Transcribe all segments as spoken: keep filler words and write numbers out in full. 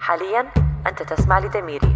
حالياً أنت تسمع لدميري.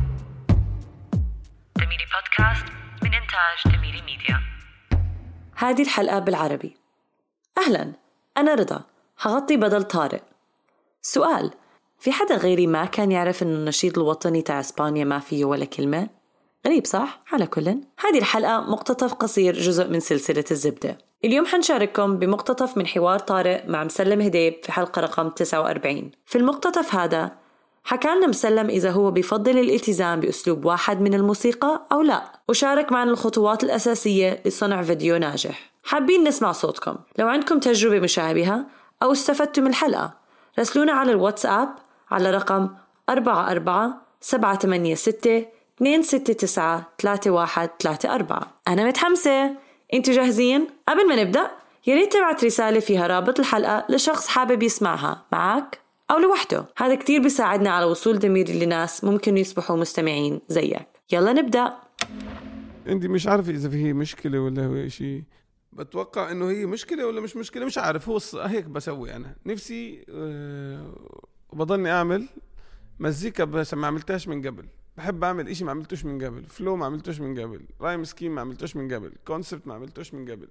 دميري بودكاست من إنتاج دميري ميديا. هذه الحلقة بالعربي. أهلاً، أنا رضا، هغطي بدل طارق. سؤال: في حدا غيري ما كان يعرف إنه النشيد الوطني تاع إسبانيا ما فيه ولا كلمة؟ غريب صح؟ على كل، هذه الحلقة مقتطف قصير جزء من سلسلة الزبدة. اليوم حنشارككم بمقتطف من حوار طارق مع مسلم هديب في حلقة رقم تسعة وأربعين. في المقتطف هذا حكى لنا مسلم إذا هو بيفضل الالتزام بأسلوب واحد من الموسيقى أو لا، وشارك معنا الخطوات الأساسية لصنع فيديو ناجح. حابين نسمع صوتكم. لو عندكم تجربة مشابهة أو استفدتوا من الحلقة، راسلونا على الواتساب على رقم أربعة أربعة سبعة ثمانية ستة اثنين ستة تسعة ثلاثة واحد ثلاثة أربعة. أنا متحمسة، أنتوا جاهزين؟ قبل ما نبدأ ياريت تبعت رسالة فيها رابط الحلقة لشخص حابب يسمعها معك أو لوحده. هذا كتير بيساعدنا على وصول دميري لناس ممكن يصبحوا مستمعين زيك. يلا نبدأ. انت مش عارف اذا فيه مشكله ولا هو شيء. بتوقع انه هي مشكله ولا مش مشكله، مش عارف. هو هيك بسوي انا نفسي أه وبضلني اعمل مزيكا بس ما عملتهاش من قبل. بحب اعمل اشي ما عملتوش من قبل، فلو ما عملتوش من قبل، رايم سكيم ما عملتوش من قبل، كونسبت ما عملتوش من قبل،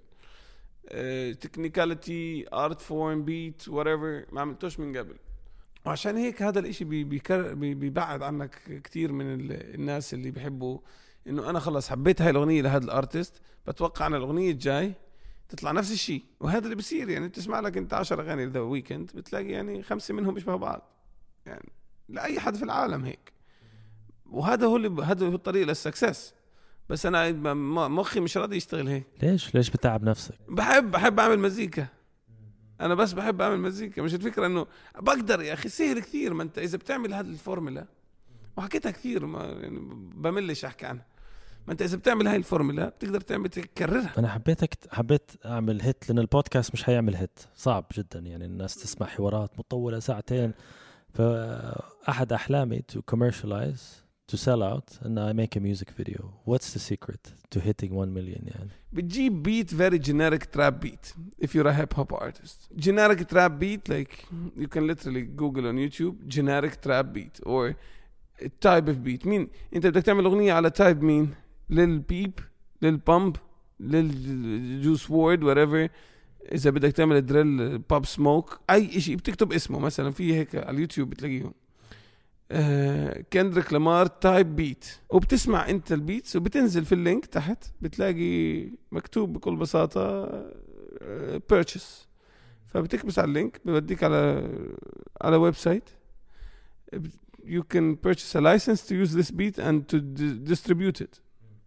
تكنيكاليتي، ارت فورم، بيت، whatever ما عملتوش من قبل. وعشان هيك هذا الاشي بيكر بيبعد عنك كتير من الناس اللي بيحبوا انه انا خلص حبيت هاي الاغنيه لهذا الارتست، بتوقع ان الاغنيه الجاي تطلع نفس الشيء. وهذا اللي بيصير، يعني تسمع لك انت عشر اغاني ذا ويكند بتلاقي يعني خمسه منهم بيشبهوا بعض، يعني لاي حد في العالم هيك. وهذا هو اللي هذا هو الطريق للسكسس. بس انا مخي مش راضي يشتغل هيك. ليش ليش بتعب نفسك؟ بحب بحب اعمل مزيكا. انا بس بحب اعمل مزيكا، مش الفكره انه بقدر. يا اخي سهل كثير. ما انت اذا بتعمل هذه الفورمولا، وحكيتها كثير ما يعني بملش احكي عنها، ما انت اذا بتعمل هاي الفورمولا بتقدر تعمل تكررها. انا حبيتك حبيت اعمل هيت، لان البودكاست مش هيعمل هيت، صعب جدا. يعني الناس تسمع حوارات مطوله ساعتين. فاحد احلامي to commercialize, to sell out, and I make a music video. What's the secret to hitting one million? يعني بتجيب beat, very generic trap beat. If you're a hip hop artist, generic trap beat, like you can literally Google on YouTube generic trap beat or a type of beat. مين انت بدك تعمل اغنيه على تايب؟ مين؟ للبيب، للبامب، للجوس وورد، whatever. اذا بدك تعمل دريل، بوب سموك، اي شيء بتكتب اسمه مثلا في هيك على اليوتيوب بتلاقيهم. آه كندريك لامار تايب بيت، وبتسمع انت البيتس وبتنزل في اللينك تحت بتلاقي مكتوب بكل بساطة آه purchase. فبتكبس على اللينك بيوديك على على ويب سايت. you can purchase a license to use this beat and to d- distribute it.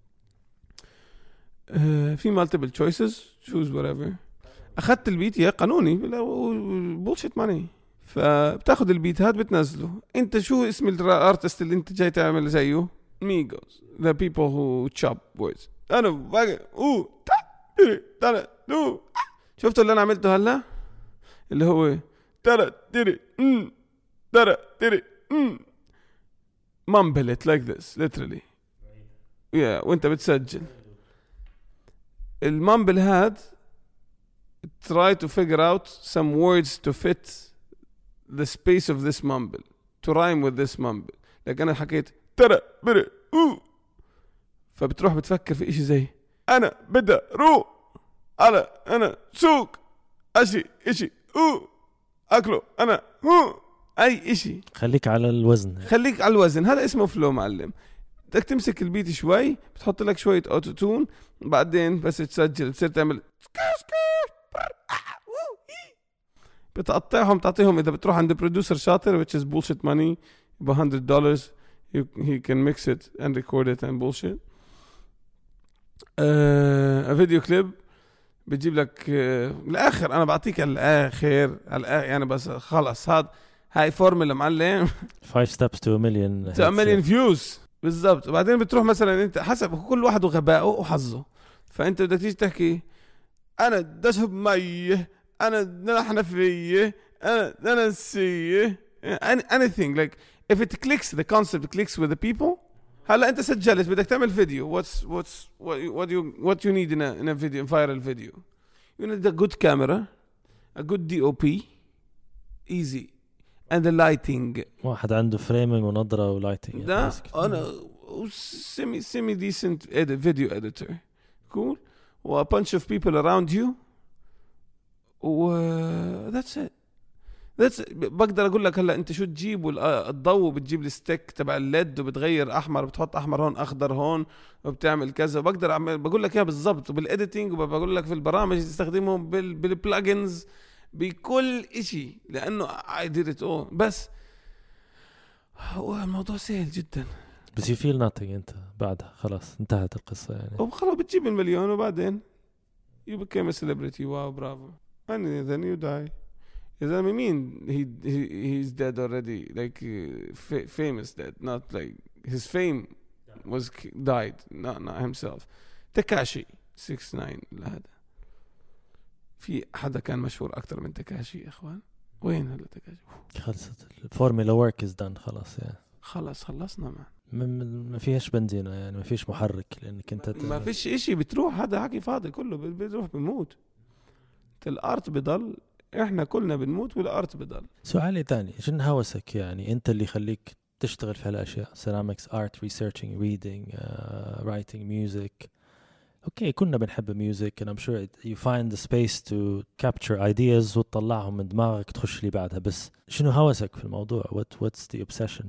آه في multiple choices, choose whatever. أخذت البيت يا قانوني bullshit money. فبتاخد البيت هاد بتنزله. انت شو اسم الارتست اللي انت جاي تعمل زيه؟ ميغوز، the people who chop words. انا باقي اوه تا تري ترى دو. شفتوا اللي انا عملته هلا اللي هو ترى تري ام ترى تري ام mumble it like this literally. yeah وانت بتسجل المامبل هاد try to figure out some words to fit the space of this mumble, to rhyme with this mumble. لكن أنا حكيت ترى بري أوه، فبتروح بتفكر في إشي زي أنا بدأ رو على أنا سوق أشي إشي أوه أكله أنا هو أي إشي. خليك على الوزن، خليك على الوزن. هذا اسمه فلو معلم. بدك تمسك البيت شوي، بتحط لك شوية أوتو تون، بعدين بس تسجل بتصير تعمل بتقطعهم تعطيهم. إذا بتروح عند برودوسر شاطر which is bullshit money ب one hundred dollars he can mix it and record it and bullshit. uh, a video clip بتجيب لك uh, الآخر. أنا بعطيك الآخر الآخر يعني بس خلص. هاد هاي فورمولا معلم five steps to a million to a million views بالضبط. وبعدين بتروح مثلا أنت حسب كل واحد وغبائه وحظه. فأنت بدك تيجي تحكي أنا دشب ميه، أنا نحن فيه، أنا أنا سيه anything like if it clicks, the concept clicks with the people. هلا أنت سجلت بدك تعمل فيديو. what's what's what what you what you need in a in a video, viral video. You need a good camera, a good D O P, easy. and the lighting. واحد عنده فريمينج ونظرة ولايتنج. ده أنا semi semi decent edit video editor. Cool. و a bunch of people around you. و that's it. that's it. بقدر أقول لك هلا أنت شو تجيب والضوء بتجيب الستيك تبع الليد وبتغير أحمر بتحط أحمر هون أخضر هون وبتعمل كذا. بقدر أعمل بقول لك إياها بالضبط وبالإديتينج وبقول لك في البرامج تستخدمهم بال بالبلاجنز بكل إشي لأنه I did it all. بس هو الموضوع سهل جدا. بس you feel nothing أنت بعدها خلاص انتهت القصة يعني. وخلاص بتجيب المليون وبعدين you became a celebrity. واو برافو. and then you die. إذا I mean he, he he's dead already like uh, fa- famous dead not like his fame was died not not himself. تكاشي six nine هذا في حدا كان مشهور أكتر من تكاشي يا إخوان. وين هلا تكاشي؟ خلصت الفورمولا ورك is done خلاص يعني. خلاص خلصنا ما ما فيهاش بنزينة يعني ما فيش محرك لأنك أنت ت... ما فيش إشي بتروح هذا حكي فاضي كله بتروح بموت. الأرض بضل إحنا كلنا بنموت والأرض بضل. سؤالي تاني شن هوسك يعني أنت اللي يخليك تشتغل في هالأشياء ceramics art researching reading uh, writing music. اوكي كنا بنحب ميوزك and I'm sure you find the space to capture ideas وتطلعهم من دماغك تخش لي بعدها. بس شنو هوسك في الموضوع؟ what what's the obsession؟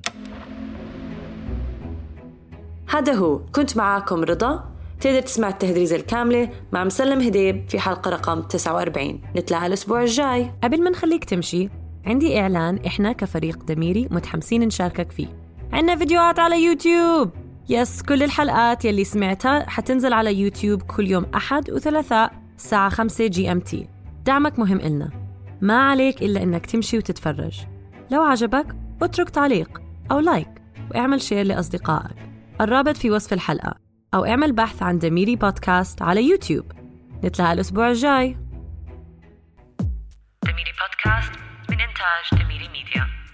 هذا هو كنت معاكم رضا. تقدر تسمع التهدريزة الكاملة مع مسلم هديب في حلقة رقم تسعة وأربعين. نتلاقى الأسبوع الجاي. قبل ما نخليك تمشي عندي إعلان إحنا كفريق دميري متحمسين نشاركك فيه. عنا فيديوهات على يوتيوب. يس كل الحلقات يلي سمعتها حتنزل على يوتيوب كل يوم أحد وثلاثاء الساعة خمسة جي أم تي. دعمك مهم إلنا. ما عليك إلا إنك تمشي وتتفرج. لو عجبك اترك تعليق أو لايك واعمل شير لأصدقائك. الرابط في وصف الحلقة أو اعمل بحث عن دميري بودكاست على يوتيوب. نتلاقى الأسبوع الجاي. دميري بودكاست من إنتاج دميري ميديا.